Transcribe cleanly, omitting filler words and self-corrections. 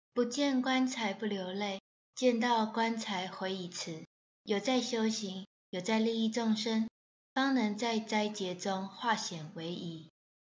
不见棺材不流泪，见到棺材悔已迟。有在修行，有在利益众生，方能在灾劫中化险为夷。